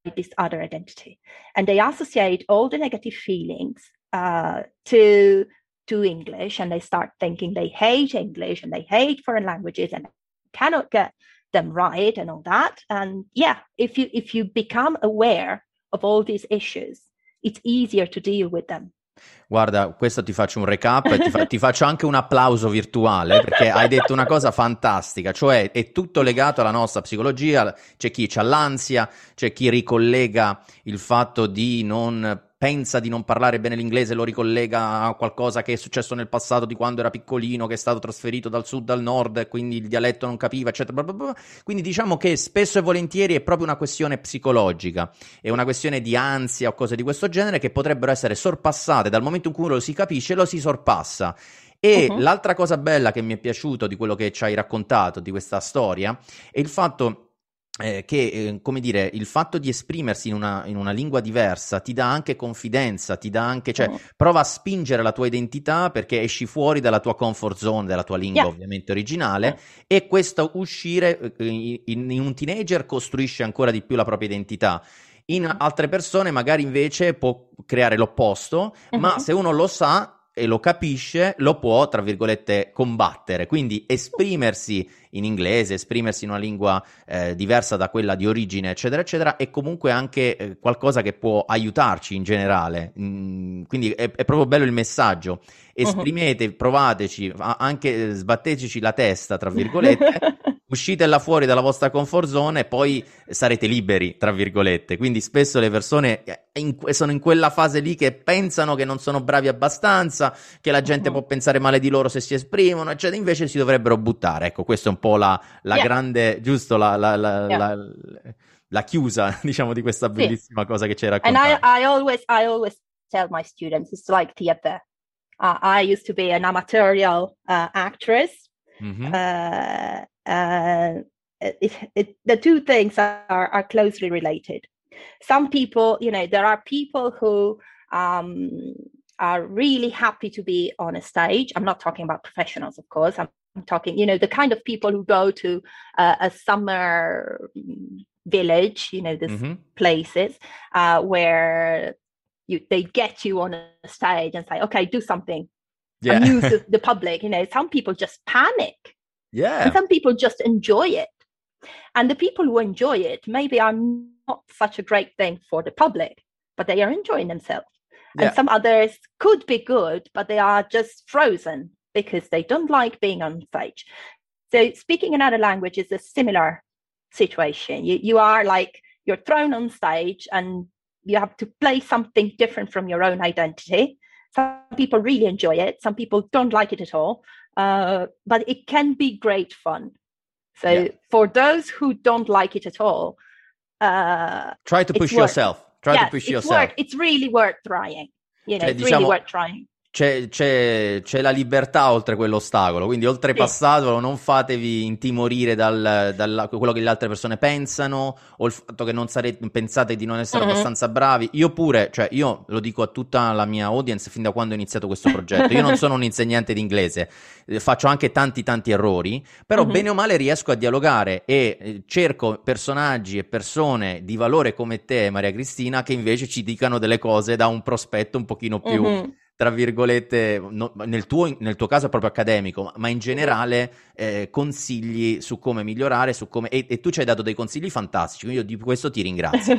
this other identity, and they associate all the negative feelings uh, to to English, and they start thinking they hate English and they hate foreign languages and cannot get them right and all that. And yeah, if you if you become aware of all these issues, it's easier to deal with them. Guarda, questo ti faccio un recap e ti, fa- ti faccio anche un applauso virtuale, perché hai detto una cosa fantastica, cioè è tutto legato alla nostra psicologia. C'è chi ha l'ansia, c'è chi ricollega il fatto di non pensa di non parlare bene l'inglese, lo ricollega a qualcosa che è successo nel passato di quando era piccolino, che è stato trasferito dal sud al nord e quindi il dialetto non capiva, eccetera. Bla bla bla. Quindi diciamo che spesso e volentieri è proprio una questione psicologica, è una questione di ansia o cose di questo genere che potrebbero essere sorpassate dal momento in cui lo si capisce, lo si sorpassa. E uh-huh. l'altra cosa bella che mi è piaciuto di quello che ci hai raccontato di questa storia è il fatto Eh, che, eh, come dire, il fatto di esprimersi in una, in una lingua diversa ti dà anche confidenza, ti dà anche, cioè, oh. prova a spingere la tua identità perché esci fuori dalla tua comfort zone, della tua lingua yeah. ovviamente originale, yeah. e questo uscire eh, in, in un teenager costruisce ancora di più la propria identità. In altre persone magari invece può creare l'opposto, uh-huh. ma se uno lo sa e lo capisce, lo può, tra virgolette, combattere. Quindi esprimersi in inglese, esprimersi in una lingua eh, diversa da quella di origine, eccetera, eccetera, è comunque anche eh, qualcosa che può aiutarci in generale. Mm, quindi è, è proprio bello il messaggio. Esprimete, uh-huh. provateci, anche sbatteteci la testa, tra virgolette, uscite là fuori dalla vostra comfort zone e poi sarete liberi, tra virgolette. Quindi spesso le persone in, sono in quella fase lì che pensano che non sono bravi abbastanza, che la gente uh-huh. può pensare male di loro se si esprimono, eccetera. Invece si dovrebbero buttare. Ecco, questo è un po' la, la yeah. grande, giusto, la, la, la, yeah. la, la chiusa, diciamo, di questa bellissima sì. cosa che ci hai raccontato. And I, I always, I always tell my students, it's like theater. Uh, I used to be an amatorial uh, actress. Mm-hmm. Uh, uh, it, it, the two things are, are closely related. Some people, you know, there are people who um, are really happy to be on a stage. I'm not talking about professionals, of course. I'm, I'm talking, you know, the kind of people who go to uh, a summer village, you know, these mm-hmm. places uh, where you they get you on a stage and say, okay, do something. Yeah. Amuse the, the public. You know, some people just panic. Yeah. And some people just enjoy it. And the people who enjoy it maybe are not such a great thing for the public, but they are enjoying themselves. Yeah. And some others could be good, but they are just frozen because they don't like being on stage. So speaking another language is a similar situation. You you are like, you're thrown on stage and you have to play something different from your own identity. Some people really enjoy it. Some people don't like it at all. Uh, but it can be great fun. So yeah. for those who don't like it at all, uh, try to push yourself. Try yes, to push it's yourself. Worth, it's really worth trying. You know, cioè, it's diciamo, really worth trying. C'è, c'è, c'è la libertà oltre quell'ostacolo, quindi oltrepassatelo, sì. non fatevi intimorire dal, dal quello che le altre persone pensano o il fatto che non sarete, pensate di non essere uh-huh. abbastanza bravi. Io pure, cioè io lo dico a tutta la mia audience fin da quando ho iniziato questo progetto, io non sono un insegnante di inglese, faccio anche tanti tanti errori, però uh-huh. bene o male riesco a dialogare e eh, cerco personaggi e persone di valore come te, Maria Cristina, che invece ci dicano delle cose da un prospetto un pochino più... Uh-huh. tra virgolette, no, nel, tuo, nel tuo caso è proprio accademico, ma in generale eh, consigli su come migliorare, su come e, e tu ci hai dato dei consigli fantastici, quindi io di questo ti ringrazio.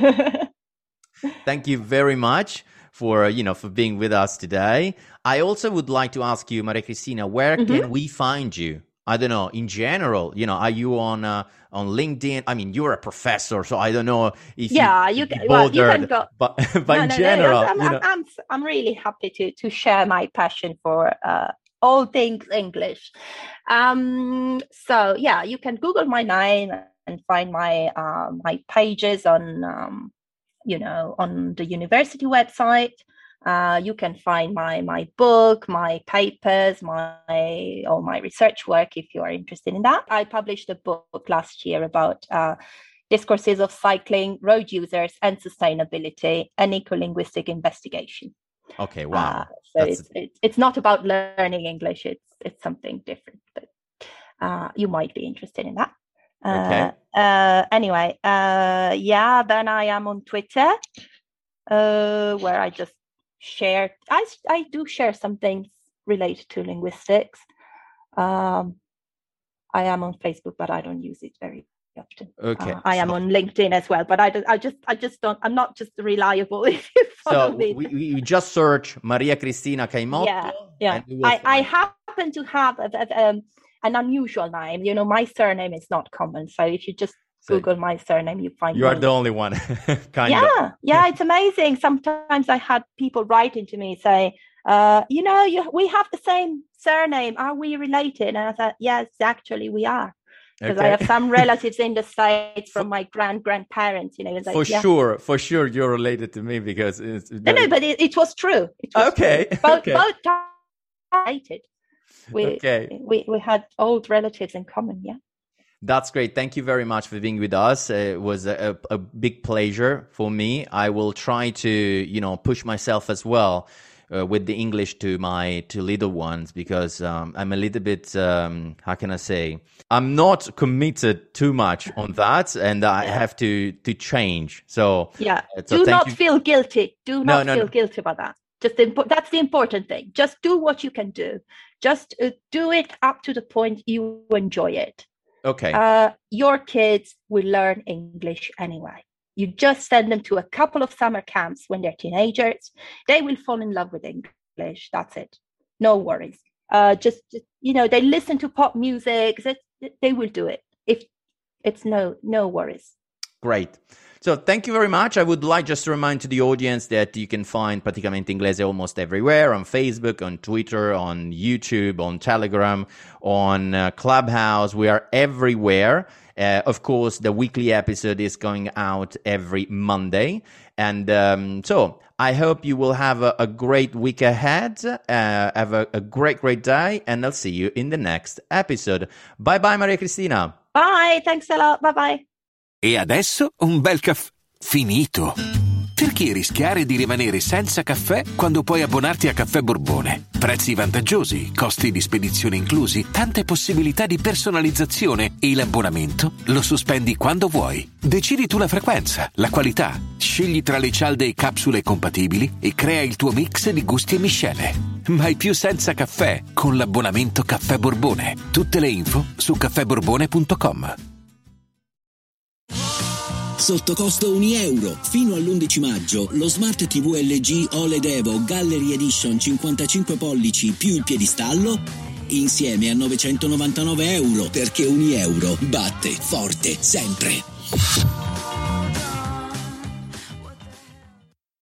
Thank you very much for, you know, for being with us today. I also would like to ask you, Maria Cristina, where mm-hmm. can we find you? I don't know, in general, you know, are you on uh, on LinkedIn? I mean, you're a professor, so I don't know if yeah, you, you can, well, you can go. But, but no, in no, general, no, I'm, you know. I'm, I'm, I'm really happy to to share my passion for uh, all things English. Um, so yeah, you can Google my name and find my uh, my pages on, um, you know, on the university website. Uh, you can find my my book, my papers, my all my research work if you are interested in that. I published a book last year about uh, discourses of cycling, road users, and sustainability, an eco-linguistic investigation. Okay, wow. Uh, so it's, it's it's not about learning English; it's it's something different. But uh, you might be interested in that. Okay. Uh, uh, anyway, uh, yeah, then I am on Twitter, uh, where I just share, I, I do share some things related to linguistics. Um, I am on Facebook, but I don't use it very often. Okay. Uh, I am so, on LinkedIn as well, but I, don't, I just, I just don't, I'm not just reliable if you follow so me. we, we just search Maria Cristina Caimotto. Yeah, yeah. And we will I, I find- happen to have a, a, um, an unusual name. You know, my surname is not common. So if you just So Google my surname, you find you are me. the only one, kind yeah, of. yeah, it's amazing. Sometimes I had people writing to me say, uh, you know, you, we have the same surname. Are we related? And I thought, yes, actually we are. Because Okay. I have some relatives in the States from my grand grandparents, you know. It's like, For yeah. sure, for sure, you're related to me because it's No, no, but it, it was true. It was Okay, true. Both, okay. both related. We, Okay. we we had old relatives in common, yeah. That's great. Thank you very much for being with us. Uh, it was a, a big pleasure for me. I will try to, you know, push myself as well uh, with the English to my to little ones because um, I'm a little bit, um, how can I say, I'm not committed too much on that, and I Yeah. have to to change. So Yeah. uh, so do thank not you. feel guilty. Do No, not no, feel no. guilty about that. Just the, impo- that's the important thing. Just do what you can do. Just uh, do it up to the point you enjoy it. Okay. Uh, your kids will learn English anyway. You just send them to a couple of summer camps when they're teenagers. They will fall in love with English. That's it. No worries. Uh, just, you know, they listen to pop music. They, they will do it. If it's no, no worries. Great. So thank you very much. I would like just to remind to the audience that you can find Praticamente Inglese almost everywhere, on Facebook, on Twitter, on YouTube, on Telegram, on uh, Clubhouse. We are everywhere. Uh, of course, the weekly episode is going out every Monday. And um, so I hope you will have a, a great week ahead. Uh, have a, a great, great day. And I'll see you in the next episode. Bye-bye, Maria Cristina. Bye. Thanks a lot. Bye-bye. E adesso un bel caffè finito. Perché rischiare di rimanere senza caffè quando puoi abbonarti a Caffè Borbone? Prezzi vantaggiosi, costi di spedizione inclusi, tante possibilità di personalizzazione e l'abbonamento lo sospendi quando vuoi. Decidi tu la frequenza, la qualità, scegli tra le cialde e capsule compatibili e crea il tuo mix di gusti e miscele. Mai più senza caffè con l'abbonamento Caffè Borbone. Tutte le info su caffè borbone punto com. Sotto costo un euro. Fino all'undici maggio lo Smart tivù L G O L E D Evo Gallery Edition cinquantacinque pollici più il piedistallo insieme a novecentonovantanove euro, perché un euro batte forte sempre.